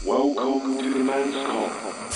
Welcome to the Men's Come。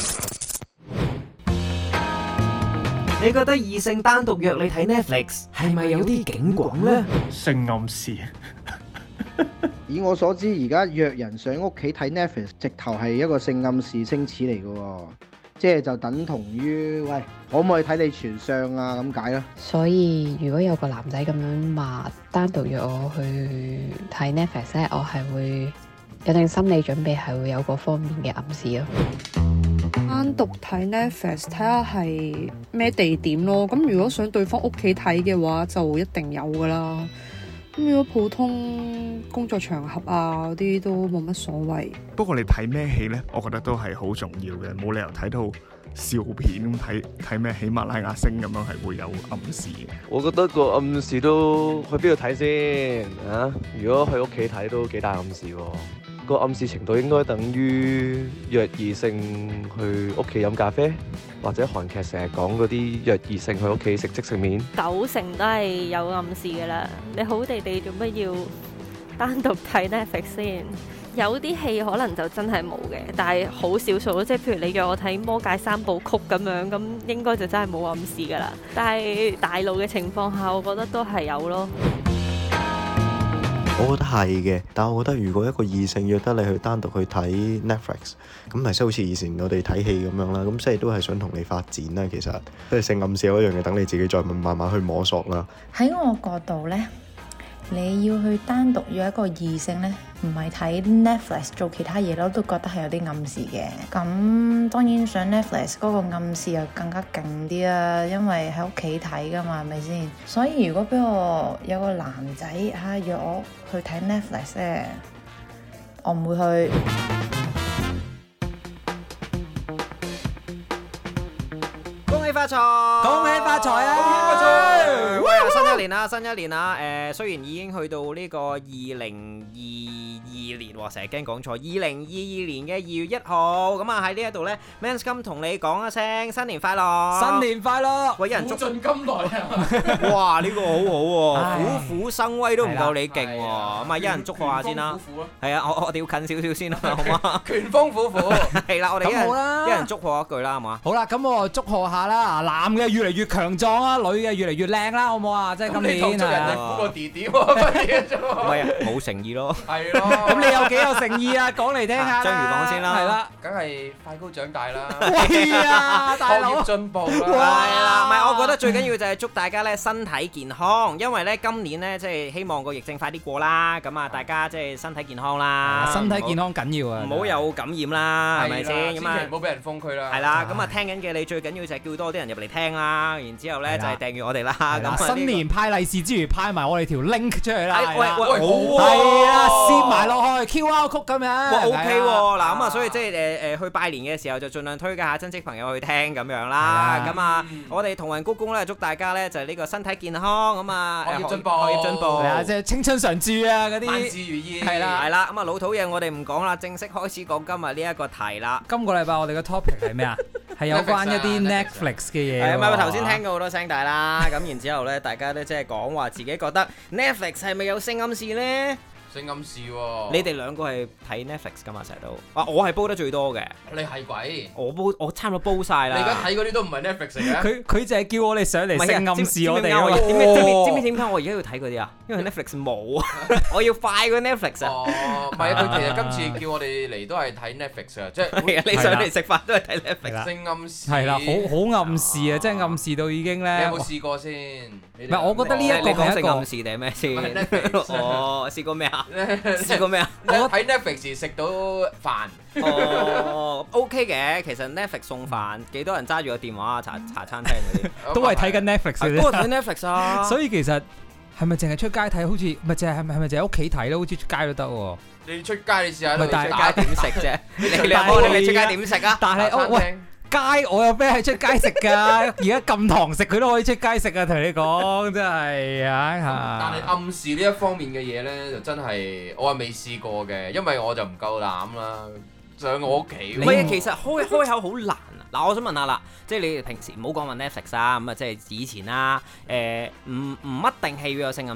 你覺得異性單獨約你睇 Netflix 係咪有啲警廣呢？ 性暗示。 以我所知，而家約人上屋企睇 Netflix， 直頭係一個性暗示星矢嚟嘅喎，即係就等同於喂，可唔可以睇你全相啊咁解咯。 所以如果有個男仔咁樣話單獨約我去睇 Netflix 咧，我係會有定心理準備，係會有嗰方面嘅暗示咯。 單獨睇 Netflix 睇下係咩地點咯，咁如果想對方屋企睇嘅話，就一定有噶啦。咁如果普通工作場合啊嗰啲都冇乜所謂。 不過你睇咩戲呢？我覺得都係好重要嘅，冇理由睇到笑片咁睇咩喜馬拉雅星咁樣係會有暗示嘅。 我覺得個暗示都去邊度睇先啊？如果去屋企睇都幾大暗示喎。個暗示程度應該等於約異性去屋企飲咖啡，或者韓劇成日講嗰啲約異性去屋企食即食麵 ，90%都係有暗示㗎啦。你好地地做乜要單獨睇 Netflix 先？有啲戲可能就真係冇嘅，但係好少數咯。即係譬如你約我睇《魔戒三部曲》咁樣，咁應該就真係冇暗示㗎啦。但係大陸嘅情況下，我覺得都係有咯。 我覺得係嘅，但係我覺得如果一個異性約得你去單獨去睇 Netflix， 咁咪即係好似以前我哋睇戲咁樣啦，咁即係都係想同你發展啦。其實即係性暗示嗰樣嘢，等你自己再慢慢去摸索啦。 喺我角度呢，你要去單獨約一個異性呢，唔係睇 Netflix 做其他嘢咯，都覺得係有啲暗示嘅。咁當然上 Netflix 嗰個暗示又更加勁啲啦，因為喺屋企睇噶嘛，係咪先？所以如果俾我有個男仔約我去睇 Netflix 咧，我唔會去。 恭喜發財！恭喜發財啊！恭喜發財！喂，新一年啦，新一年啦。雖然已經去到呢個2022年，成日驚講錯，2022年嘅2月1號。咁啊喺呢一度咧 ，Men's Come 同你講一聲新年快樂！新年快樂！喂，有人捉盡金來啊！哇，呢個好好喎，虎虎生威都唔夠你勁喎。咁啊，一人祝賀下先啦。係啊，我哋要近少少先啦，好嘛？拳風虎虎。係啦，我哋一人祝賀一句啦，好嘛？ 好啦，咁我祝賀下啦，男嘅越嚟越強壯啦，女嘅越嚟越靚啦，好唔好啊？即係今年人哋估個弟弟喎，乜嘢啫？ 唔係啊，冇誠意咯。 係咯。 咁你有幾有誠意啊？講嚟聽下啦。 章魚講先啦。係啦。 梗係快高長大啦。 係啊，大佬。 學業進步啦。 係啦，唔係我覺得最緊要就係祝大家咧身體健康，因為咧今年咧即係希望個疫症快啲過啦，咁啊大家即係身體健康啦。 身體健康緊要啊！ 唔好有感染啦，係咪先？ 千祈唔好俾人封區啦。 係啦，咁啊聽緊嘅你最緊要就係叫多啲人入嚟聽啦，然之後咧就係訂閱我哋啦。咁新年派利是之餘派埋我哋條 link 出去啦。 喂，好喎。 係啊，攝埋落去 QR code 咁樣。 哇 OK 喎，嗱咁啊，所以即係去拜年嘅時候就盡量推介下親戚朋友去聽咁樣啦。咁啊，我哋同人鞠躬咧，祝大家咧就係呢個身體健康，咁啊學業進步， 學業進步。 係啊，即係青春常駐啊嗰啲。 萬事如意。 係啦， 係啦。咁啊老土嘢我哋唔講啦，正式開始講今日呢一個題啦。 今個禮拜我哋嘅 topic 係咩啊？係有關一啲 Netflix 嘅嘢。 係咪頭先聽過好多聲帶啦？咁然之後咧，大家都即係講話自己覺得 Netflix 係咪有性暗示咧？ 性暗示喎！ 你哋兩個係睇 Netflix 噶嘛？成日都我係煲得最多嘅。 你係鬼？ 我差唔多煲晒啦。 你而家睇嗰啲都唔係 Netflix 嚟嘅。 佢就係叫我哋上嚟性暗示我哋。 知唔知點解我而家要睇嗰啲啊？因為 Netflix 冇啊，我要快過 Netflix 啊。 哦，唔係啊，佢其實今次叫我哋嚟都係睇 Netflix 啊，即係你上嚟食飯都係睇 Netflix。 性暗示係啦，好暗示啊，即係暗示到已經咧。 你有冇試過先？ 唔係，我覺得呢一個係一個暗示定係咩先？哦，試過咩啊？試過咩啊？ 我喺 Netflix 食到飯。 哦 ，OK 嘅，其實 Netflix 送飯，幾多人揸住個電話啊？茶餐廳嗰啲都係睇緊 Netflix 嘅啫。 都係睇 Netflix 啊。 所以其實係咪淨係出街睇？好似唔係淨係係咪淨係屋企睇咧？好似出街都得喎。 你出街你試下， 你出街點食啫？你出街點食啊？ 但係喂。街我有咩係出街食㗎？而家禁堂食佢都可以出街食啊！同你講真係啊！ 但係暗示呢一方面嘅嘢咧，就真係我係未試過嘅，因為我就唔夠膽啦。上我屋企。 唔係啊，其實開口好難啊！嗱，我想問下啦，即係你平時唔好講話 Netflix 啊，咁啊即係以前啦，唔一定係要有性暗示。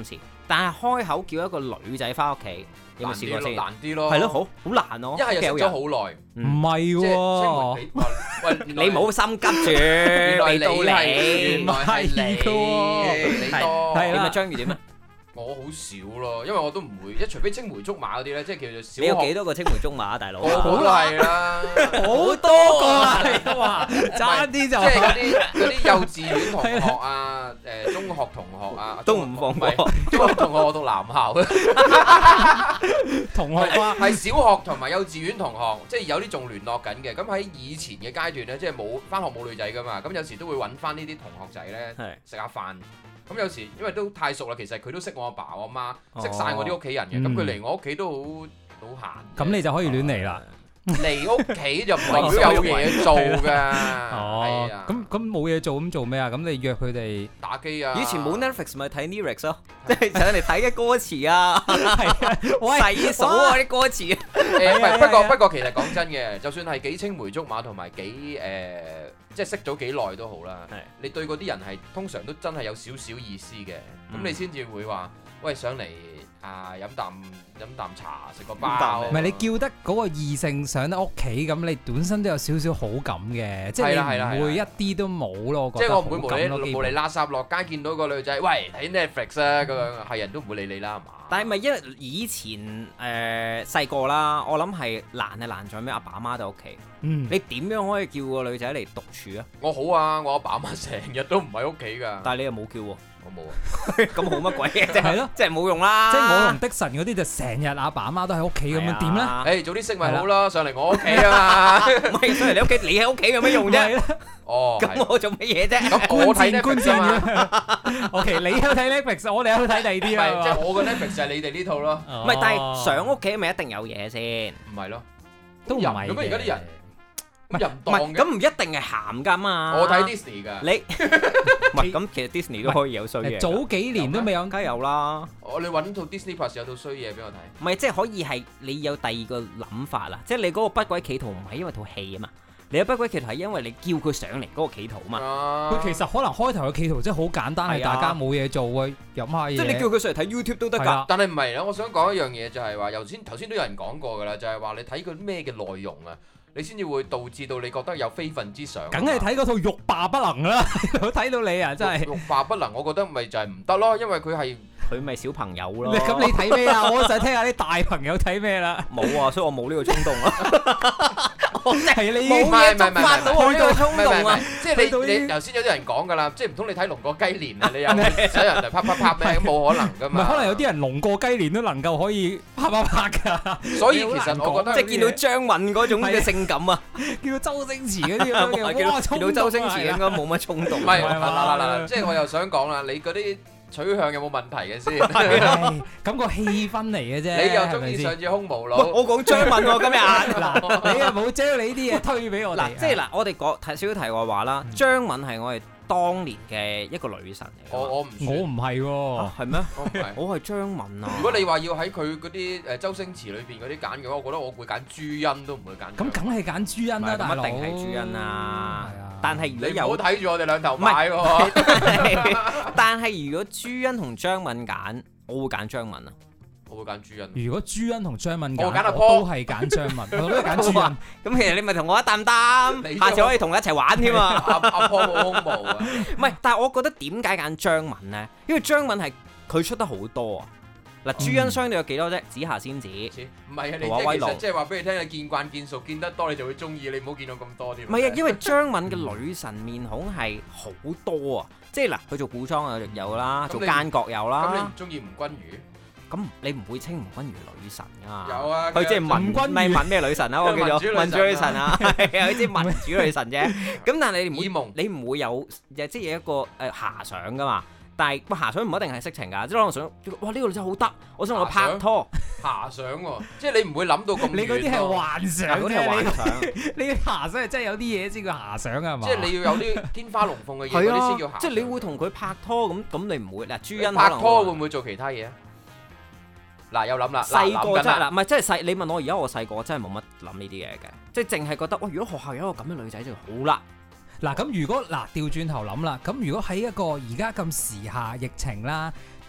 但係開口叫一個女仔翻屋企，有冇試過先？ 難啲咯， 係咯，好難咯。 一係又食咗好耐， 唔係喎。 喂，你冇心急住，未到你， 原來係你多。 點啊？章魚點啊？ 我好少咯，因為我都唔會，除非青梅竹馬嗰啲咧，即係叫做小學。 你有幾多個青梅竹馬啊，大佬？ 好係啦， 好多個啊！ 哇，差啲就即係嗰啲幼稚園同學啊，中學同學啊， 都唔放過。 中學同學我讀男校嘅同學啊， 係小學同埋幼稚園同學，即係有啲仲聯絡緊嘅。咁喺以前嘅階段咧，即係冇返學冇女仔噶嘛，咁有時都會揾返呢啲同學仔咧食下飯。咁有時因為都太熟啦，其實佢都識我阿爸我阿媽，識晒我啲屋企人嘅。咁佢嚟我屋企都好閒。 咁你就可以亂嚟啦。 嚟屋企就唔代表有嘢做㗎。 哦，咁冇嘢做咁做咩啊？咁你約佢哋打機啊？ 以前冇 Netflix 咪睇 Lyrics 咯，即係上嚟睇嘅歌詞啊，細數啊啲歌詞。 不過其實講真嘅，就算係幾青梅竹馬同埋幾即係識咗幾耐都好啦。你對嗰啲人係通常都真係有少少意思嘅，咁你先至會話喂上嚟啊飲啖茶食個包。 唔係你叫得嗰個異性上得屋企，咁你本身都有少少好感嘅，即係你唔會一啲都冇咯。 即係我唔會無理垃圾落街見到個女仔，喂睇 Netflix 啊咁樣，係人都唔會理你啦，係嘛？ 但係咪因為以前細個啦，我諗係難在咩？阿爸阿媽喺屋企，你點樣可以叫個女仔嚟獨處啊？ 我好啊，我阿爸阿媽成日都唔喺屋企㗎。 但係你又冇叫喎。 我冇啊， 咁好乜鬼嘅啫？ 係咯， 即係冇用啦。 即係我同的神嗰啲就成日阿爸阿媽都喺屋企咁樣點咧？ 早啲識咪好咯，上嚟我屋企啊嘛。 唔係上嚟你屋企，你喺屋企有咩用啫？ 哦， 咁我做乜嘢啫？ 咁我睇 Netflix 嘛。 OK，你去睇 Netflix，我哋去睇第二啲啊。 即係我個 Netflix 就係你哋呢套咯。 唔係，但係上屋企咪一定有嘢先？ 唔係咯， 都唔係。 咁而家啲人。 唔係咁唔一定係鹹㗎嘛。 我睇 Disney 㗎。 你唔係咁，其實 Disney 都可以有衰嘢。 早幾年都未有， 梗係有啦。 你揾套 Disney Plus 有套衰嘢俾我睇。 唔係，即係可以係你有第二個諗法啦。即係你嗰個不軌企圖唔係因為套戲啊嘛，你有不軌企圖係因為你叫佢上嚟嗰個企圖啊嘛。 佢其實可能開頭嘅企圖真係好簡單，係大家冇嘢做啊，飲下嘢。 即係你叫佢上嚟睇 YouTube 都得㗎。 但係唔係啦，我想講一樣嘢就係話，頭先都有人講過㗎啦，就係話你睇佢咩嘅內容啊。你先至會導致到你覺得有非分之想。 梗係睇嗰套欲罷不能啦！睇到你啊，真係欲罷不能，我覺得咪就係唔得咯，因為佢咪小朋友咯。 咁你睇咩啊？我想聽下啲大朋友睇咩啦。 冇啊，所以我冇呢個衝動啊。我真係你冇嘢觸發到我呢個衝動啊！ 即係你頭先有啲人講㗎啦，即係唔通你睇龍過雞年啊？你又使人嚟啪啪啪咩？冇可能㗎嘛。 唔係，可能有啲人龍過雞年都能夠可以啪啪啪㗎。 所以其實我覺得即係見到張敏嗰種嘅性感啊， 見到周星馳嗰啲咁嘅，哇！ 見到周星馳應該冇乜衝動。 唔係嗱，即係我又想講啦，你嗰啲取向有冇問題嘅先？ 咁個氣氛嚟嘅啫。 你又中意上次空無腦？ 我講張敏喎今日。 嗱，你又冇將你啲嘢推俾我哋。 嗱，即係嗱，我哋講少少題外話啦。張敏係我哋當年嘅一個女神嚟。 我唔係喎。 係咩？我係張敏啊。 如果你話要喺佢嗰啲周星馳裏邊嗰啲揀嘅話，我覺得我會揀朱茵都唔會揀。 咁梗係揀朱茵啦，大佬。 一定係朱茵啦。但係如果有， 唔好睇住我哋兩頭買喎。 但係如果朱茵同張敏揀，我會揀張敏啊。 我會揀朱茵。 如果朱茵同張敏揀， 我揀阿 Paul， 都係揀張敏，我都係揀朱茵。 咁其實你咪同我一擔擔，下次可以同我一齊玩添啊！ 阿 Paul 冇胸毛啊。 唔係，但係我覺得點解揀張敏咧？因為張敏係佢出得好多啊。嗱，朱茵相對有幾多啫？紫霞仙子， 唔係啊！你即係即係話俾你聽，你見慣見熟，見得多你就會中意，你唔好見到咁多啲。 唔係啊，因為張敏嘅女神面孔係好多啊，即係嗱，佢做古裝啊有啦，做奸角有啦。 咁你唔中意吳君如？ 咁你唔會稱吳君如女神啊？ 有啊， 佢即係民君，咪問咩女神啊？我叫做民主女神啊，係啊，佢即係民主女神啫。咁但係你唔會有，即係有一個遐想噶嘛？但係遐想唔一定係色情㗎，即係可能想，哇呢個女仔好得，我想同佢拍拖。 遐想喎，即係你唔會諗到咁遠。 你嗰啲係幻想， 嗰啲係幻想。 你遐想係真係有啲嘢先叫遐想啊嘛。 即係你要有啲天花龍鳳嘅嘢，嗰啲先叫遐想。 即係你會同佢拍拖咁你唔會嗱，朱茵拍拖會唔會做其他嘢啊？嗱，有諗啦， 細個真係嗱，唔係真係細。你問我而家我細個真係冇乜諗呢啲嘢嘅，即係淨係覺得，如果學校有一個咁嘅女仔就好啦。 嗱，咁如果調轉頭諗啦，咁如果喺一個而家咁時下疫情啦，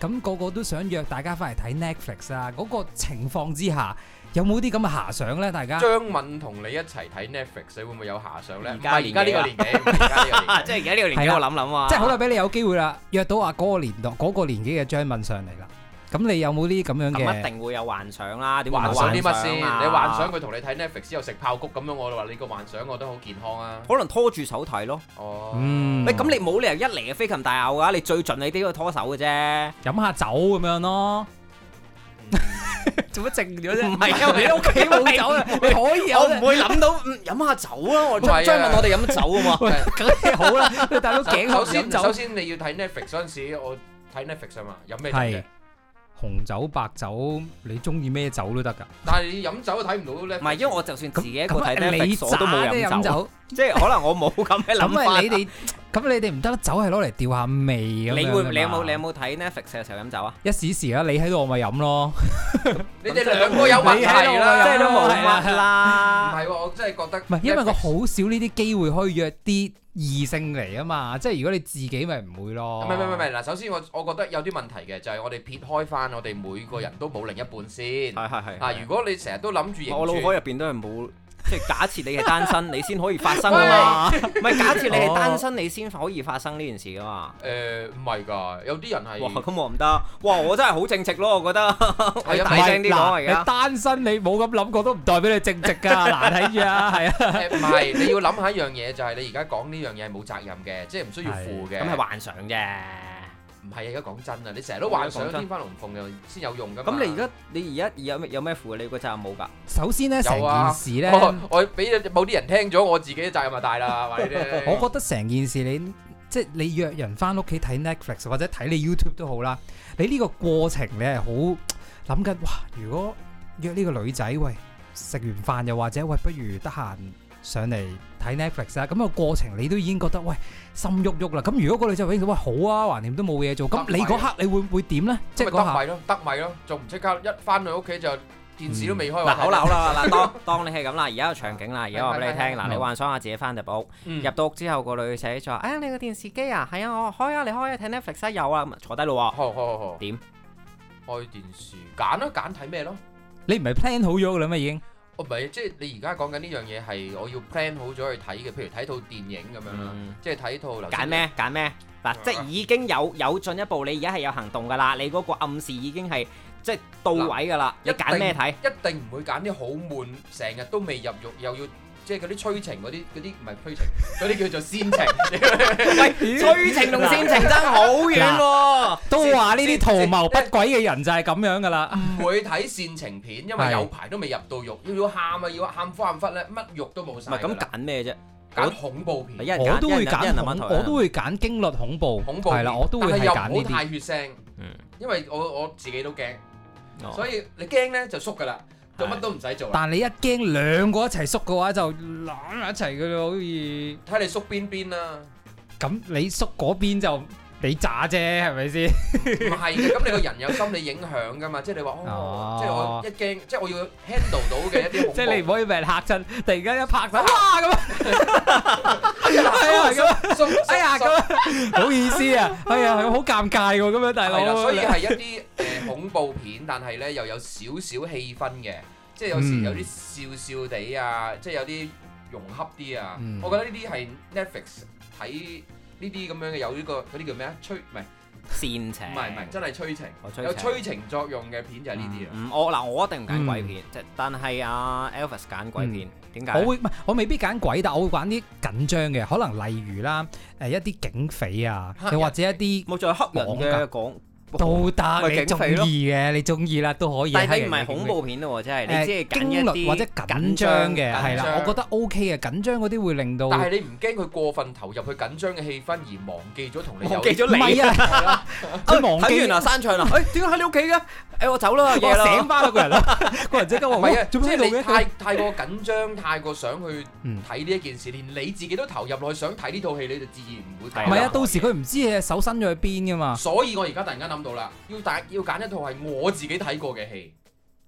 咁個個都想約大家翻嚟睇 Netflix 啊，嗰個情況之下，有冇啲咁嘅遐想咧？大家張敏同你一齊睇 Netflix，你會唔會有遐想咧？ 而家呢個年紀，即係而家呢個年紀，我諗啊， 即係好啦，俾你有機會啦，約到嗰個年紀嘅張敏上嚟啦。咁你有冇啲咁樣嘅？ 咁一定會有幻想啦。點幻想啲乜先？你幻想佢同你睇 Netflix 之後食炮谷咁樣，我話你個幻想我覺得好健康啊。 可能拖住手睇咯。 哦。 咁你冇理由一嚟嘅飛禽大咬㗎，你最盡你都要拖手嘅啫。 飲下酒咁樣咯。做乜靜咗啫？ 唔係因為你屋企冇酒啊，你可以有。我唔會諗到飲下酒啊！我張問我哋飲酒啊嘛。 梗係好啦，你大佬頸口飲酒。 首先你要睇 Netflix 嗰陣時，我睇 Netflix 啊嘛，飲咩酒嘅？ 紅酒、白酒，你中意咩酒都得㗎。 但係你飲酒都睇唔到咧。 唔係，因為我就算自己一個睇 Netflix 我都冇飲酒，即係可能我冇咁嘅諗法。 咁你哋唔得啦，酒係攞嚟調下味咁樣。 你有冇睇 Netflix 嘅時候飲酒啊？ 一時時啦，你喺度我咪飲咯。 你哋兩個有問題啦， 即係都冇乜啦。 唔係喎，我真係覺得唔係，因為我好少呢啲機會可以約啲異性嚟啊嘛，即係如果你自己咪唔會咯。 唔係嗱，首先我覺得有啲問題嘅，就係我哋撇開翻，我哋每個人都冇另一半先。係。嗱，如果你成日都諗住， 我腦海入邊都係冇。即係假設你係單身，你先可以發生㗎嘛？唔係假設你係單身，你先可以發生呢件事㗎嘛？ 唔係㗎，有啲人係。 哇，咁我唔得。哇，我真係好正直咯，我覺得。我要大聲啲講而家。 你單身你冇咁諗過都唔代表你正直㗎，嗱睇住啊，係啊。 唔係，你要諗下一樣嘢，就係你而家講呢樣嘢係冇責任嘅，即係唔需要負嘅。 咁係幻想啫。 唔係啊！而家講真啊，你成日都幻想天花龍鳳又先有用㗎嘛。 咁你而家有咩負？你個責任冇㗎。 首先咧，成件事咧， 我俾某啲人聽咗，我自己嘅責任就大啦，話你聽。 我覺得成件事即係你約人翻屋企睇 Netflix 或者睇你 YouTube 都好啦，你呢個過程你係好諗緊，哇！如果約呢個女仔，喂，食完飯又或者喂，不如得閒上嚟睇 Netflix 啊，咁個過程你都已經覺得喂心喐喐啦。咁如果個女仔話喂好啊，橫掂都冇嘢做，咁你嗰刻你會點咧？即係嗰下得咪咯，仲唔即刻一翻去屋企就電視都未開。 嗱好啦，嗱當你係咁啦，而家個場景啦，而家話俾你聽，嗱你幻想下自己翻入屋，入到屋之後個女仔就話：哎呀你個電視機啊，係啊我開啊，你開啊睇 Netflix 啊有啊，坐低咯喎。 好。點？開電視揀睇咩咯？ 你唔係 plan 好咗㗎啦咩已經？ 唔係，即係你而家講緊呢樣嘢係我要 plan 好咗去睇嘅，譬如睇套電影咁樣啦，即係睇套。 揀咩？嗱，即係已經有進一步，你而家係有行動㗎啦，你嗰個暗示已經係即係到位㗎啦。你揀咩睇？一定唔會揀啲好悶，成日都未入獄又要。即係嗰啲催情嗰啲唔係催情，嗰啲叫做煽情。喂，催情同煽情爭好遠喎。 都話呢啲圖謀不軌嘅人就係咁樣㗎啦。 唔會睇煽情片，因為有排都未入到獄，要喊啊，要喊苦喊忽咧，乜獄都冇晒。 唔係咁揀咩啫？ 揀恐怖片。 我都會揀驚慄恐怖。係啦，我都會係揀呢啲。 但係又唔好太血腥。因為我自己都驚，所以你驚咧就縮㗎啦。做乜都唔使做。 但你一驚兩個一齊縮嘅話，就攬埋一齊嘅咯，好似睇你縮邊啦。 咁你縮嗰邊就你渣啫，係咪先？ 唔係嘅，咁你個人有心理影響㗎嘛？即係你話即係我一驚，即係我要 handle 到嘅一啲恐怖。 即係你唔可以俾人嚇親，突然間一拍手，哇咁。係啊咁，哎呀咁，好意思啊，係啊，好尷尬喎，咁樣大佬。 係啦，所以係一啲恐怖片，但係咧又有少少氣氛嘅，即係有時有啲笑笑地啊，即係有啲融洽啲啊。我覺得呢啲係 Netflix 睇呢啲咁樣嘅，有呢個嗰啲叫咩啊？ 煽情， 唔係真係催情，有催情作用嘅片就係呢啲啊。 我一定唔揀鬼片，但係阿 Elvis 揀鬼片，點解？ 我未必揀鬼，但我會揀啲緊張嘅，可能例如啦，一啲警匪啊，又或者一啲冇再黑人嘅講。 都得，你中意嘅，你中意啦，都可以。 但係你唔係恐怖片咯，即係你即係驚慄或者緊張嘅，係啦，我覺得 OK 嘅，緊張嗰啲會令到。 但係你唔驚佢過分投入去緊張嘅氣氛而忘記咗同你。 忘記咗你。唔係啊，佢忘記睇完啦，散場啦。點解喺你屋企嘅？我走啦，夜啦。醒翻啦，個人啦，個人即刻話：唔係啊， 做咩喺度嘅？太過緊張，太過想去睇呢一件事，連你自己都投入落去想睇呢套戲，你就自然唔會睇。 唔係啊，到時佢唔知你手伸咗去邊噶嘛。 所以我而家突然間諗到啦，要揀一套係我自己睇過嘅戲，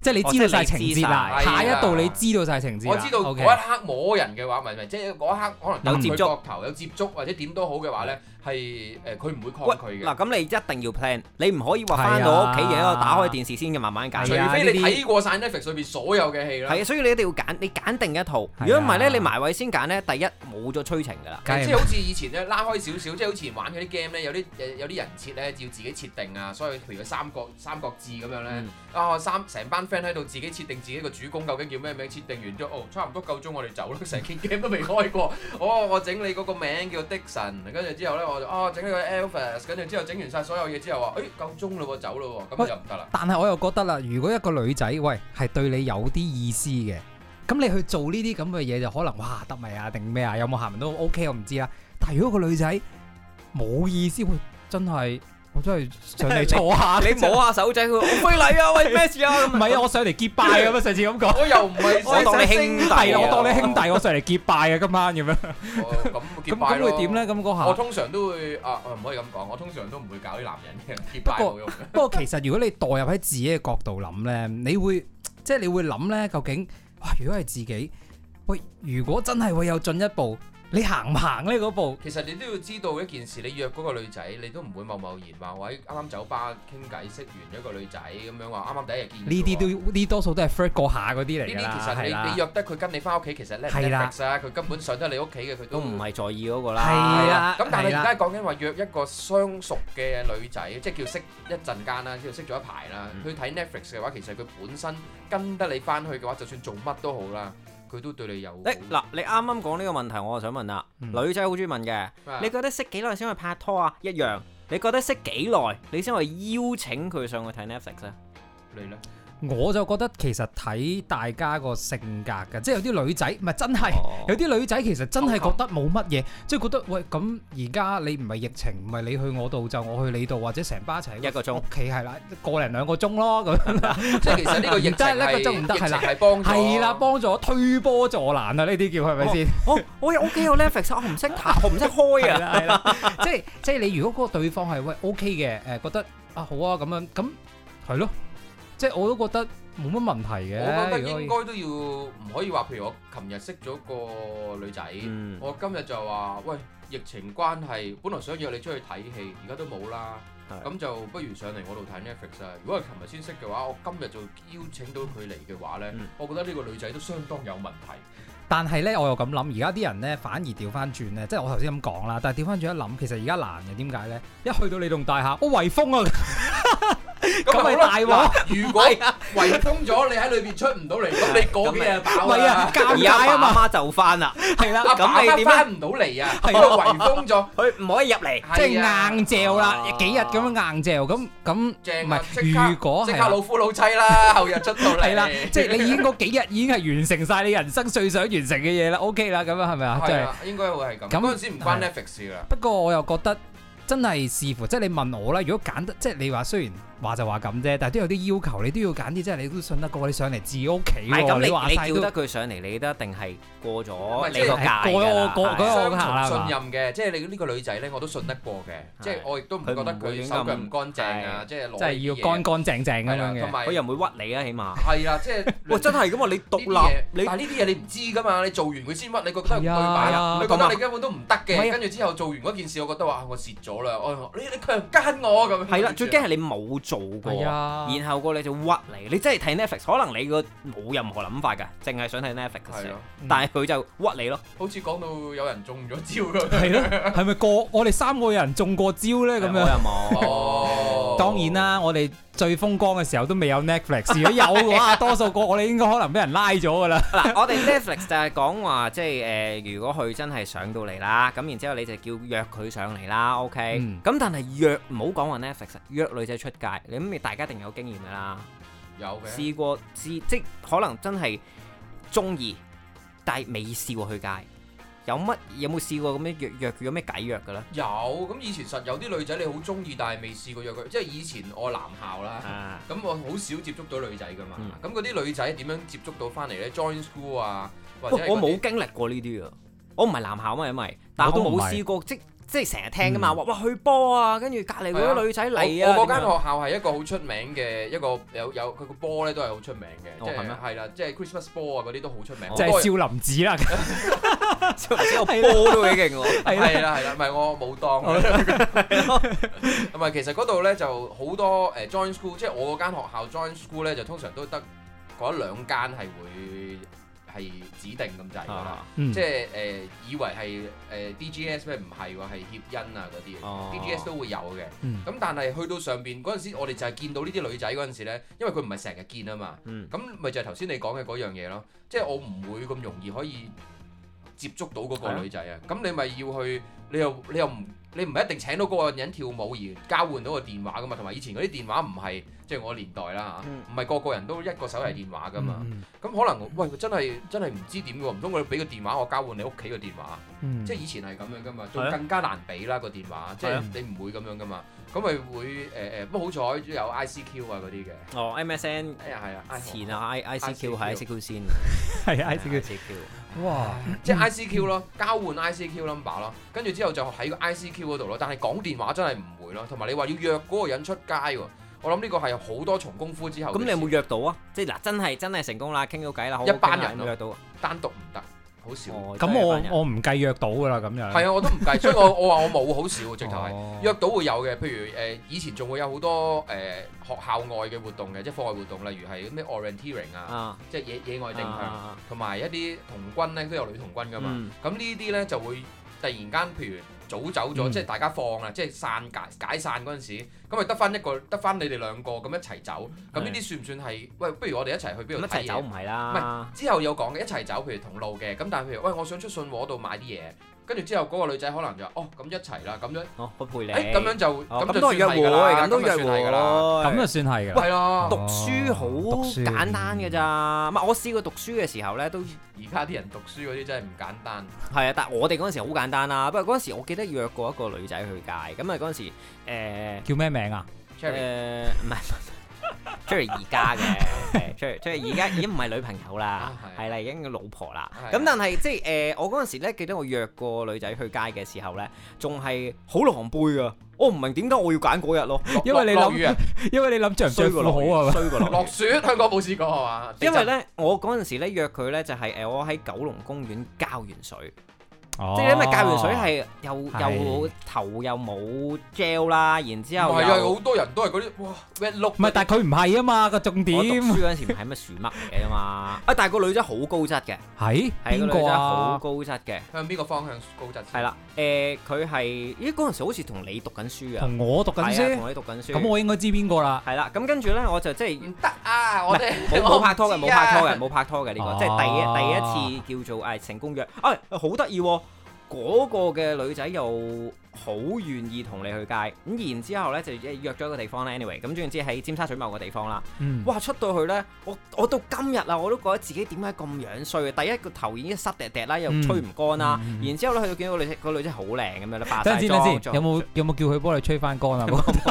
即係你知道晒情節啦，下一步你知道晒情節。 我知道嗰一刻摸人嘅話，唔係即係嗰一刻可能有接觸頭有接觸或者點都好嘅話咧，係佢唔會抗拒嘅。 嗱，咁你一定要 plan，你唔可以話翻到屋企然後打開電視先嘅慢慢揀。 除非你睇過晒 Netflix 裏邊所有嘅戲啦。 係啊，所以你一定要揀，你揀定一套。如果唔係咧，你埋位先揀咧，第一冇咗催情㗎啦。 即係好似以前咧拉開少少，即係好似玩嗰啲 game 咧，有啲人設咧要自己設定啊，所以譬如《三國志》咁樣咧，成班 friend 喺度自己設定自己個主公究竟叫咩名，設定完之後，差唔多夠鐘我哋走啦，成件 game 都未開過。我整你嗰個名叫 Dixon，跟住之後咧我就整呢個 Elvis，跟住之後整完晒所有嘢之後話，夠鐘嘞喎，走嘞喎，咁就唔得啦。 但係我又覺得啦，如果一個女仔喂係對你有啲意思嘅，咁你去做呢啲咁嘅嘢就可能哇得咪啊定咩啊，有冇下文都 OK 我唔知啦。但係如果個女仔冇意思，真係。我真係上嚟坐下， 你摸下手仔，佢好非禮啊！喂，咩事啊？ 唔係啊，我上嚟結拜咁啊！上次咁講， 我又唔係， 我當你兄弟， 我當你兄弟，我上嚟結拜啊！今晚咁樣。 咁結拜咯。 咁會點咧？咁嗰下， 我通常都會唔可以咁講，我通常都唔會搞啲男人嘅結拜冇用。 不過其實如果你代入喺自己嘅角度諗咧，你會諗咧，究竟哇？如果係自己，喂，如果真係會有進一步。你行唔行呢嗰步？ 其實你都要知道一件事，你約嗰個女仔，你都唔會貿貿然話喂啱啱酒吧傾偈識完一個女仔咁樣話啱啱第一日見。 呢啲多數都係 flirt 過下嗰啲嚟㗎啦。 呢啲其實你約得佢跟你翻屋企，其實咧 Netflix 啊，佢根本上得你屋企嘅，佢都唔係在意嗰個啦。 係啦。 咁但係而家講緊話約一個相熟嘅女仔，即係叫識一陣間啦，即係識咗一排啦。去睇 Netflix 嘅話，其實佢本身跟得你翻去嘅話，就算做乜都好啦。佢都對你有嗱，你啱啱講呢個問題，我就想問啦。女仔好中意問嘅，你覺得識幾耐先去拍拖啊？一樣，你覺得識幾耐你先可以邀請佢上去睇 Netflix 啊？ 你咧？ 我就覺得其實睇大家個性格嘅，即係有啲女仔唔係真係，有啲女仔其實真係覺得冇乜嘢，即係覺得喂咁而家你唔係疫情，唔係你去我度就我去你度，或者成班一齊一個鐘， 屋企係啦，個零兩個鐘咯咁。 即係其實呢個疫情係幫助， 係啦，幫助推波助瀾啊！呢啲叫係咪先？ 我有屋企有 Netflix，我唔識睇，我唔識開啊！ 係啦，即係你如果嗰個對方係喂 OK 嘅，覺得啊好啊咁樣，咁係咯。即係我都覺得冇乜問題嘅。 我覺得應該都要唔可以話，譬如我琴日識咗個女仔，我今日就話喂，疫情關係，本來想約你出去睇戲，而家都冇啦，咁就不如上嚟我度睇 Netflix 啊！如果係琴日先識嘅話，我今日就邀請到佢嚟嘅話咧，我覺得呢個女仔都相當有問題。 但係咧，我又咁諗，而家啲人咧反而調翻轉咧，即係我頭先咁講啦。但係調翻轉一諗，其實而家難嘅點解咧？一去到你棟大廈，我圍封啊！咁咪大鑊！ 如果圍封咗，你喺裏邊出唔到嚟，咁你嗰幾日飽啊！ 而家阿媽就翻啦， 係啦， 咁你點翻唔到嚟啊？係咯，圍封咗， 佢唔可以入嚟， 即係硬嚼啦，幾日咁樣硬嚼，咁唔係如果即刻老夫老妻啦，後日出到嚟， 係啦，即係你已經嗰幾日已經係完成晒你人生最想完成嘅嘢啦 ，OK 啦，咁樣係咪啊？ 係啊，應該會係咁。咁嗰陣時唔關 Netflix 噶。 不過我又覺得真係視乎，即係你問我啦。如果揀得，即係你話雖然話就話咁啫，但係都有啲要求，你都要揀啲，即係你都信得過你上嚟自己屋企喎。 咁你叫得佢上嚟，你都一定係過咗你個界㗎啦。 相信任嘅，即係你呢個女仔咧，我都信得過嘅。即係我亦都唔覺得佢手腳唔乾淨啊，即係攞係要乾乾淨淨咁樣嘅。 同埋佢又唔會屈你啊，起碼係啦，即係喂真係咁啊！你獨立， 但係呢啲嘢你唔知㗎嘛，你做完佢先屈，你覺得唔對版啊？你覺得你根本都唔得嘅，跟住之後做完嗰件事，我覺得話我蝕咗啦，你強姦我咁。 係啦，最驚係你冇做過。然後個你就屈你，你真係睇 Netflix，可能你個冇任何諗法㗎，淨係想睇 Netflix 嘅，但係佢就屈你咯。 好似講到有人中咗招咁。 係咯，係咪我哋三個人中過招咧？咁樣。我又冇。 當然啦，我哋最風光嘅時候都未有 Netflix，如果有嘅話，多數我哋應該可能俾人拉咗㗎啦。 嗱，我哋 Netflix 就係講話，即係如果佢真係上到嚟啦，咁然之後你就叫約佢上嚟啦，OK。咁但係約唔好講話 Netflix，約女仔出街，你諗大家一定有經驗㗎啦。 有嘅。試過即可能真係中意，但係未試過去街。有冇試過咁樣約有咩計約嘅咧？ 有，咁以前實有啲女仔你好中意，但係未試過約佢。即係以前我男校啦，咁我好少接觸到女仔噶嘛。咁嗰啲女仔點樣接觸到翻嚟咧 ？Join school 啊，或者我冇經歷過呢啲啊。我唔係男校嘛，因為但係我冇試過，即即係成日聽噶嘛，哇去波啊，跟住隔離嗰啲女仔嚟啊。 我嗰間學校係一個好出名嘅一個有佢個波咧都係好出名嘅，即係係啦，即係 Christmas 波啊嗰啲都好出名。 就係少林寺啦， 少林寺個波都幾勁喎。 係啦，唔係我冇當。唔係其實嗰度咧就好多join school， 即係我嗰間學校 join school 咧就通常都得嗰一兩間係會係指定咁滯㗎啦，即係以為係DGS 咩唔係喎，係協恩啊嗰啲，DGS 都會有嘅。咁但係去到上邊嗰陣時，我哋就係見到呢啲女仔嗰陣時咧，因為佢唔係成日見啊嘛，咁咪就係頭先你講嘅嗰樣嘢咯，即係我唔會咁容易可以接觸到嗰個女仔啊，咁你咪要去，你唔係一定請到嗰個人跳舞而交換到個電話噶嘛，同埋以前嗰啲電話唔係即係我年代啦嚇，唔係個個人都一個手提電話噶嘛，咁可能喂真係唔知點喎，唔通我俾個電話我交換你屋企個電話，即係以前係咁樣噶嘛，仲更加難俾啦個電話，即係你唔會咁樣噶嘛，咁咪會不過好彩都有 ICQ 啊嗰啲嘅， 哦 MSN 係啊， 前啊 ICQ 係 ICQ 先， 係 ICQ，哇， 即係 ICQ 咯，交換 ICQ number 咯，跟住之後就喺個 ICQ嗰度咯，但係講電話真係唔會咯，同埋你話要約嗰個人出街喎，我諗呢個係好多重功夫之後。咁你有冇約到啊？即係嗱，真係成功啦，傾到偈啦， 一班人約到， 單獨唔得，好少。 咁我唔計約到㗎啦，咁樣。 係啊，我都唔計，所以我話我冇好少，直頭係約到會有嘅。譬如以前仲會有好多學校外嘅活動嘅，即係課外活動，例如係咩 orienteering 啊，即係野外定向，同埋一啲童軍咧都有女童軍㗎嘛。咁呢啲咧就會突然間，譬如早走咗，即係大家放啦，即係解散嗰陣時，咁咪得翻你哋兩個咁一齊走。咁呢啲算唔算係？喂，不如我哋一齊去邊度睇嘢？一齊走唔係啦。唔係之後有講嘅，一齊走，譬如同路嘅。咁但係譬如喂，我想出信和度買啲嘢。跟住之後嗰個女仔可能就咁一齊啦，咁樣我陪你。 咁樣就咁都係約會，咁都約會㗎啦， 咁就算係㗎。 係咯， 讀書好簡單㗎咋。唔係我試過讀書嘅時候咧，都而家啲人讀書嗰啲真係唔簡單。 係啊，但係我哋嗰陣時好簡單啦。不過嗰陣時我記得約過一個女仔去街，咁啊嗰陣時叫咩名啊？ 唔係。Cherry 而家嘅，Cherry 而家已經唔係女朋友啦，係啦，已經老婆啦。咁但係即係我嗰陣時咧，記得我約過女仔去街嘅時候咧，仲係好狼狽噶。我唔明點解我要揀嗰日咯， 因為你諗着唔着褲好啊嘛， 衰過落雪，香港冇試過係嘛？ 因為咧，我嗰陣時咧約佢咧就係我喺九龍公園交完水。即係因為教完水係又頭又冇 gel 啦，然之後係啊，好多人都係嗰啲哇 red look。 唔係，但係佢唔係啊嘛，個重點。 我讀書嗰陣時唔係乜樹嘜嚟嘅嘛，但係個女仔好高質嘅。 係邊個啊？ 好高質嘅。 向邊個方向高質？ 係啦，佢係嗰陣時好似同你讀緊書啊。 同我讀緊書。 同你讀緊書。 咁我應該知邊個啦。 係啦，咁跟住咧我就即係唔得啊！我哋冇拍拖嘅，冇拍拖嘅呢個，即係第一次叫做成功約。好得意喎！嗰個嘅女仔又好願意同你去街，咁然之後咧就約咗一個地方咧 anyway，咁總之喺尖沙咀某個地方啦。哇！出到去咧，我到今日啊，我都覺得自己點解咁樣衰啊！第一個頭已經濕滴滴啦，又吹唔乾啦，然之後咧去到見到個女仔好靚咁樣咧，化曬妝。 有冇叫佢幫你吹翻乾啊？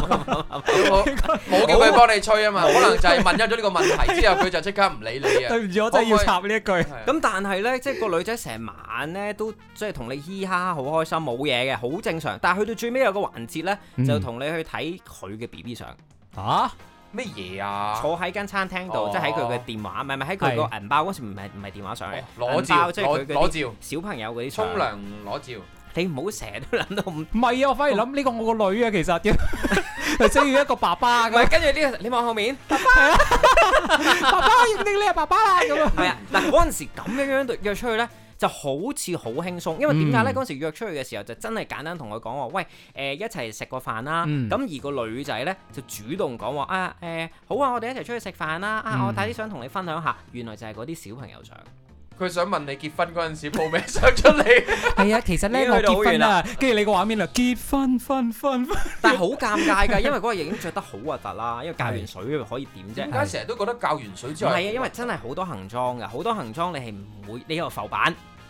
冇叫佢幫你吹啊嘛，可能就係問咗呢個問題之後，佢就即刻唔理你啊。 對唔住，我真係要插呢一句。 咁但係咧，即係個女仔成晚咧都即係同你嘻哈好開心，冇嘢嘅，好正常。但係去到最尾有個環節咧，就同你去睇佢嘅 BB 相。 嚇咩嘢啊？ 坐喺間餐廳度，即係喺佢嘅電話，唔係喺佢個銀包嗰時，唔係電話相嚟， 攞照， 即係佢攞照， 小朋友嗰啲沖涼攞照。 你唔好成日都諗到唔係啊！我反而諗呢個我個女啊，其實係需要一個爸爸。 唔係跟住呢個，你望後面， 爸爸，爸爸認定你係爸爸啦咁啊！ 係啊，嗱嗰陣時咁樣約出去咧。就好似好輕鬆，因為點解咧？嗰陣時約出去嘅時候就真係簡單同佢講話，喂一齊食個飯啦。咁而個女仔咧就主動講話好啊，我哋一齊出去食飯啦。我帶啲相同你分享下，原來就係嗰啲小朋友相。 佢想問你結婚嗰陣時報咩相出嚟？ 係啊，其實咧我結婚啦，跟住你個畫面啦，結婚分， 但係好尷尬㗎，因為嗰個已經着得好核突啦，因為教完水可以點啫？ 點解成日都覺得教完水之後？ 唔係啊，因為真係好多行裝㗎，好多行裝你係唔會，你有浮板。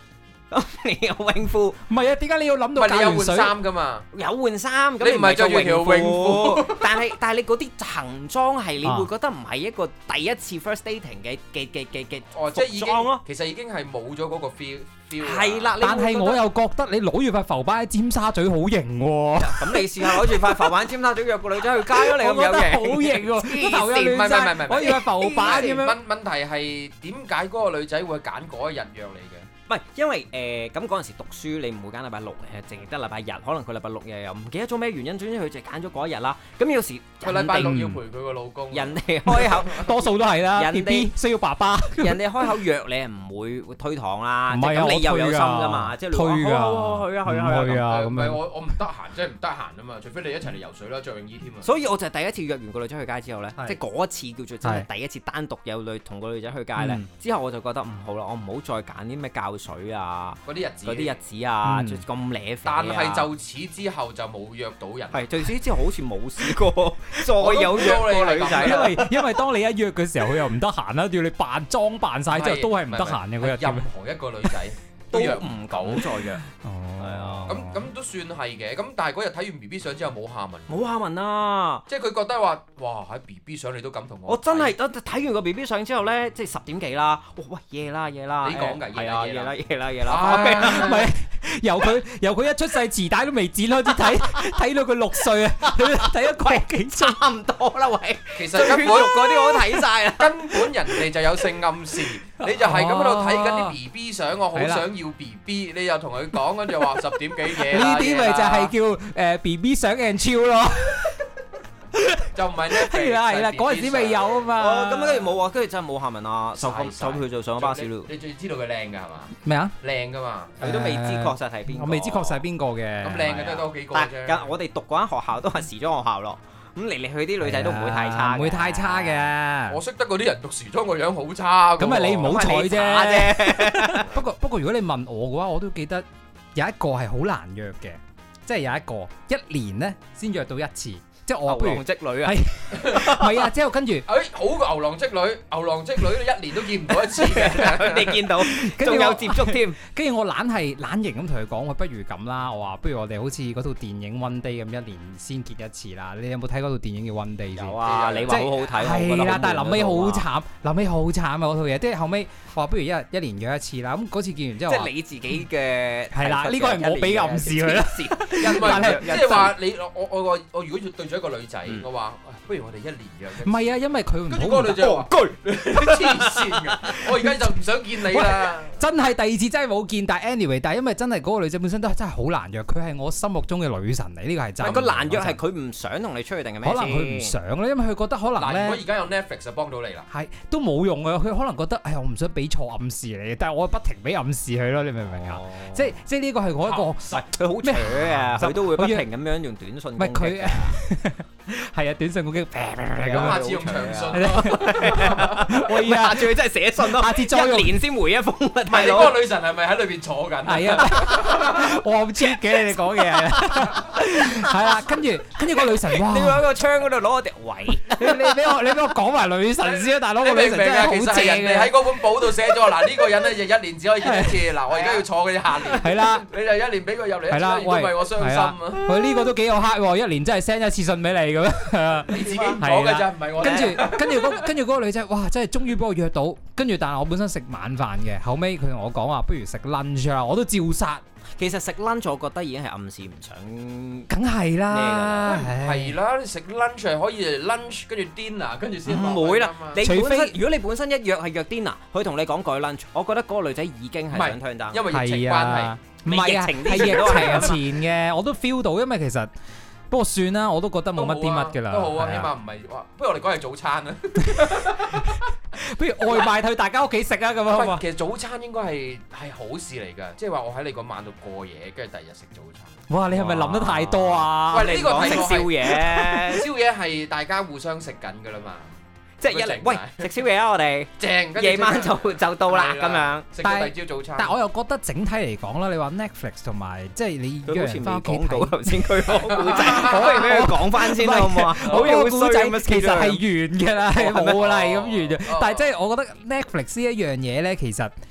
咁你有泳褲？ 唔係啊，點解你要諗到你有換水衫㗎嘛？ 有換衫，咁你唔係着住條泳褲， 但係你嗰啲行裝係你會覺得唔係一個第一次 first dating 嘅服裝咯。 其實已經係冇咗嗰個 feel。 係啦， 但係我又覺得你攞住塊浮板喺尖沙咀好型喎。 咁你試下攞住塊浮板喺尖沙咀約個女仔去街咯，你咁有型？好型喎，頭又亂晒，攞住塊浮板咁樣。 問題係點解嗰個女仔會揀嗰一日約你嘅？ 唔係，因為咁嗰陣時讀書，你唔會揀禮拜六，淨係得禮拜日。可能佢禮拜六日又唔記得咗咩原因，總之佢就揀咗嗰一日啦。咁有時佢禮拜六要陪佢個老公， 人哋開口多數都係啦。 人哋需要爸爸， 人哋開口約你係唔會推搪啦。 唔係啊， 你又有心㗎嘛，即係推㗎。 去啊咁樣。我唔得閒，即係唔得閒啊嘛。除非你一齊嚟游水啦，着泳衣添啊。 所以我就係第一次約完個女仔去街之後咧，即係嗰一次叫做真係第一次單獨有同個女仔去街咧。之後我就覺得唔好啦，我唔好再揀啲咩教水啊。嗰啲日子啊，咁瀨但係就此之後就冇約到人。 係，就此之後好似冇試過再有約過女仔。 因為當你一約嘅時候，佢又唔得閒啦，要你扮裝扮晒之後都係唔得閒嘅嗰日。 任何一個女仔都唔敢再約。 係啊，咁都算係嘅。咁但係嗰日睇完 BB 相之後冇下文。 冇下文啊！ 即係佢覺得話，哇喺 BB 相你都敢同我。 我真係睇完個 BB 相之後咧，即係10點幾啦。喂，夜啦！ 你講㗎， 係啊，夜啦。 唔係由佢一出世臍帶都未剪開始睇到佢6歲啊，睇一個幾差唔多啦喂。 其實根本嗰啲我都睇晒啦。 根本人哋就有性暗示，你就係咁喺度睇緊啲 BB 相，我好想要 BB，你又同佢講，跟住話10點幾夜啦。 呢啲咪就係叫BB 相 and chill 咯。 就唔係呢？ 係啦，嗰陣時未有啊嘛。 咁跟住冇啊，跟住真係冇下文啊，就佢就上咗巴士咯。 你最知道佢靚㗎係嘛？ 咩啊？ 靚㗎嘛？ 佢都未知確實係邊個。 我未知確實係邊個嘅。 咁靚嘅都多幾個啫。 但我哋讀嗰間學校都係時裝學校咯。咁嚟嚟去啲女仔都唔會太差， 唔會太差嘅。 我識得嗰啲人讀時裝個樣好差。 咁咪你唔好彩啫。不過如果你問我嘅話，我都記得有一個係好難約嘅，即係有一個1年咧先約到一次。即係我牛郎織女啊， 係啊，之後跟住， 好過牛郎織女，牛郎織女你1年都見唔到一次嘅， 你見到，仲有接觸添。 跟住我懶型咁同佢講，不如咁啦，我話不如我哋好似嗰套電影 One Day 咁，1年先結一次啦。你有冇睇嗰套電影叫 One Day 先？ 有啊，你話好好睇， 係啦，但係臨尾好慘，啊嗰套嘢。即係後尾我話不如一年約一次啦。咁嗰次見完之後， 即係你自己嘅係啦，呢個係我俾暗示佢啦。 即係話你我如果要對一個女仔，我話不如我哋1年約。 唔係啊，因為佢唔好。 跟住嗰個女仔話：黐線㗎！我而家就唔想見你啦。 真係第2次真係冇見，但係 anyway，但係因為真係嗰個女仔本身都真係好難約，佢係我心目中嘅女神嚟，呢個係真。 個難約係佢唔想同你出去定係咩？ 可能佢唔想咧，因為佢覺得可能咧。 如果而家有 Netflix 就幫到你啦。 係都冇用啊！佢可能覺得，我唔想俾錯暗示你，但係我不停俾暗示佢咯，你明唔明啊？即係呢個係我一個， 佢好扯啊！佢都會不停咁樣用短信。 唔係佢。係啊，短信攻擊咁下次用長信。 喂，下次佢真係寫信咯，下次再1年先回一封。唔係你嗰個女神係咪喺裏邊坐緊？ 係啊，我好 cheap 嘅，你哋講嘢係啦，跟住個女神，哇！ 你喺個窗嗰度攞個碟位， 你俾我講埋女神先啊，大佬！個女神真係好正嘅。 人哋喺嗰本簿度寫咗，嗱呢個人咧就1年只可以見一次，嗱我而家要坐佢下年。 係啦， 你就1年俾佢入嚟一次，如果唔係我傷心啊！ 佢呢個都幾有黑喎，1年真係 send 一次信俾你咁樣。 你自己講嘅咋，唔係我。 跟住嗰個女仔，哇！真係終於幫我約到，跟住但係我本身食晚飯嘅，後尾佢同我講話，不如食 lunch 啦，我都照殺。 其實食 lunch 我覺得已經係暗示唔想， 梗係啦， 係啦，你食 lunch 係可以 lunch 跟住 dinner 跟住先。 唔會啦，除非如果你本身一約係約 dinner，佢同你講改 lunch，我覺得嗰個女仔已經係想 turn down， 因為疫情關係。 唔係啊，係疫情前嘅，我都 feel 到，因為其實。不過算啦，我都覺得冇乜啲乜㗎啦。 都好啊，起碼唔係話，不如我哋講係早餐啦。 不如外賣去大家屋企食啊，咁樣好嘛？ 其實早餐應該係好事嚟㗎，即係話我喺你個晚度過夜，跟住第二日食早餐。 哇！你係咪諗得太多啊？ 喂，呢個係食宵夜， 宵夜係大家互相食緊㗎啦嘛。 即係一嚟，喂，食宵夜啊！我哋正， 夜晚就到啦咁樣。 食到第二朝早餐。 但係我又覺得整體嚟講啦，你話 Netflix 同埋即係你約人翻屋企睇頭先佢講故仔，不如俾佢講翻先啦，好唔好啊？好似好故仔衰其實係完㗎啦，冇啦，係咁完。但係即係我覺得 Netflix 呢一樣嘢咧，其實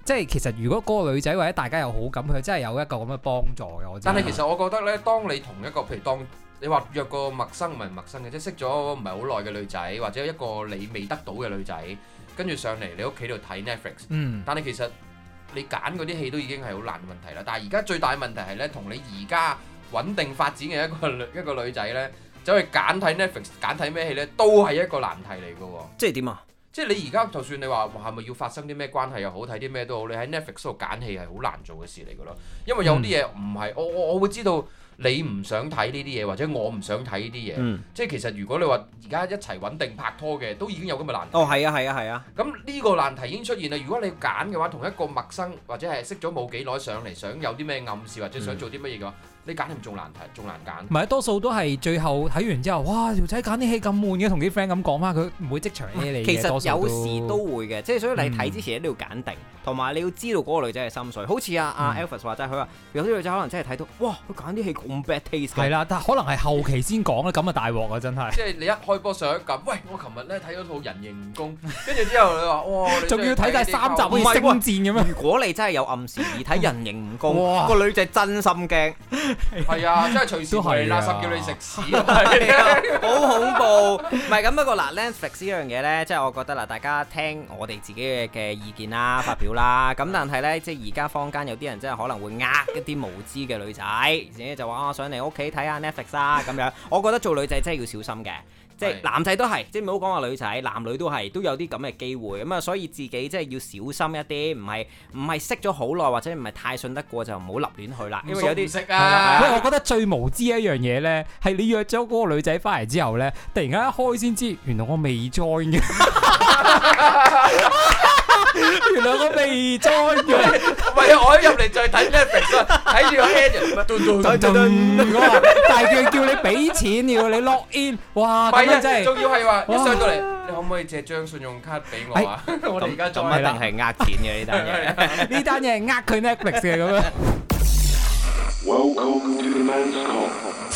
即係其實如果嗰個女仔或者大家有好感，佢真係有一個咁嘅幫助嘅。 但係其實我覺得咧，當你同一個譬如當你話約個陌生唔係陌生嘅，即係識咗唔係好耐嘅女仔，或者一個你未得到嘅女仔，跟住上嚟你屋企度睇 Netflix。但係其實你揀嗰啲戲都已經係好難嘅問題啦。但係而家最大嘅問題係咧，同你而家穩定發展嘅一個女仔咧，走去揀睇 Netflix， 揀睇咩戲咧，都係一個難題嚟嘅喎。 即係點啊？即係你而家就算你話係咪要發生啲咩關係又好，睇啲咩都好，你喺 Netflix 度揀戲係好難做嘅事嚟嘅咯。因為有啲嘢唔係我會知道。你唔想睇呢啲嘢，或者我唔想睇呢啲嘢，即係其實如果你話而家一齊穩定拍拖嘅，都已經有咁嘅難題。 係啊。咁呢個難題已經出現啦。如果你揀嘅話，同一個陌生或者係識咗冇幾耐上嚟，想有啲咩暗示或者想做啲乜嘢嘅話，你揀係咪仲難題，仲難揀？ 唔係，多數都係最後睇完之後，哇！條仔揀啲戲咁悶嘅，同啲 friend 咁講翻，佢唔會即場 A 你嘅。 其實有時都會嘅，即係所以你睇之前一定要揀定，同埋你要知道嗰個女仔嘅心水。好似阿 Elvis 話齋，佢話有啲女仔可能真係睇到，哇！佢揀啲戲咁 bad taste。 係啦，但可能係後期先講啦，咁啊大鑊啊真係。 即係你一開波上一撳，喂！我琴日咧睇咗套《人形蜈蚣》，跟住之後你話，哇！ 仲要睇晒3集好似星戰咁樣。 如果你真係有暗示而睇《人形蜈蚣》，個女仔真心驚。 係啊，真係隨時係垃圾叫你食屎， 好恐怖。唔係咁，不過嗱 Netflix 呢樣嘢咧，即係我覺得嗱，大家聽我哋自己嘅意見啦，發表啦。咁但係咧，即係而家坊間有啲人真係可能會呃一啲無知嘅女仔，自己就話上嚟屋企睇下 Netflix 啦咁樣。我覺得做女仔真係要小心嘅。即係男仔都係，即係唔好講話女仔，男女都係都有啲咁嘅機會咁啊，所以自己即係要小心一啲，唔係識咗好耐或者唔係太信得過就唔好立亂去啦，因為有啲識啊。 我覺得最無知一樣嘢咧，係你約咗嗰個女仔翻嚟之後咧，突然間一開先知，原來我未 join 嘅。原來我未 join 嘅， 唔係啊！我一入嚟就係睇 Netflix，睇住個 head， 但係佢叫你俾錢，要你 log in，哇！咁樣真係， 仲要係話一上到嚟，你可唔可以借張信用卡俾我啊？我哋而家做咁一定係呃錢嘅呢單嘢， 呢單嘢係呃佢 Netflix 嘅咁樣。 Welcome to the Men's Come。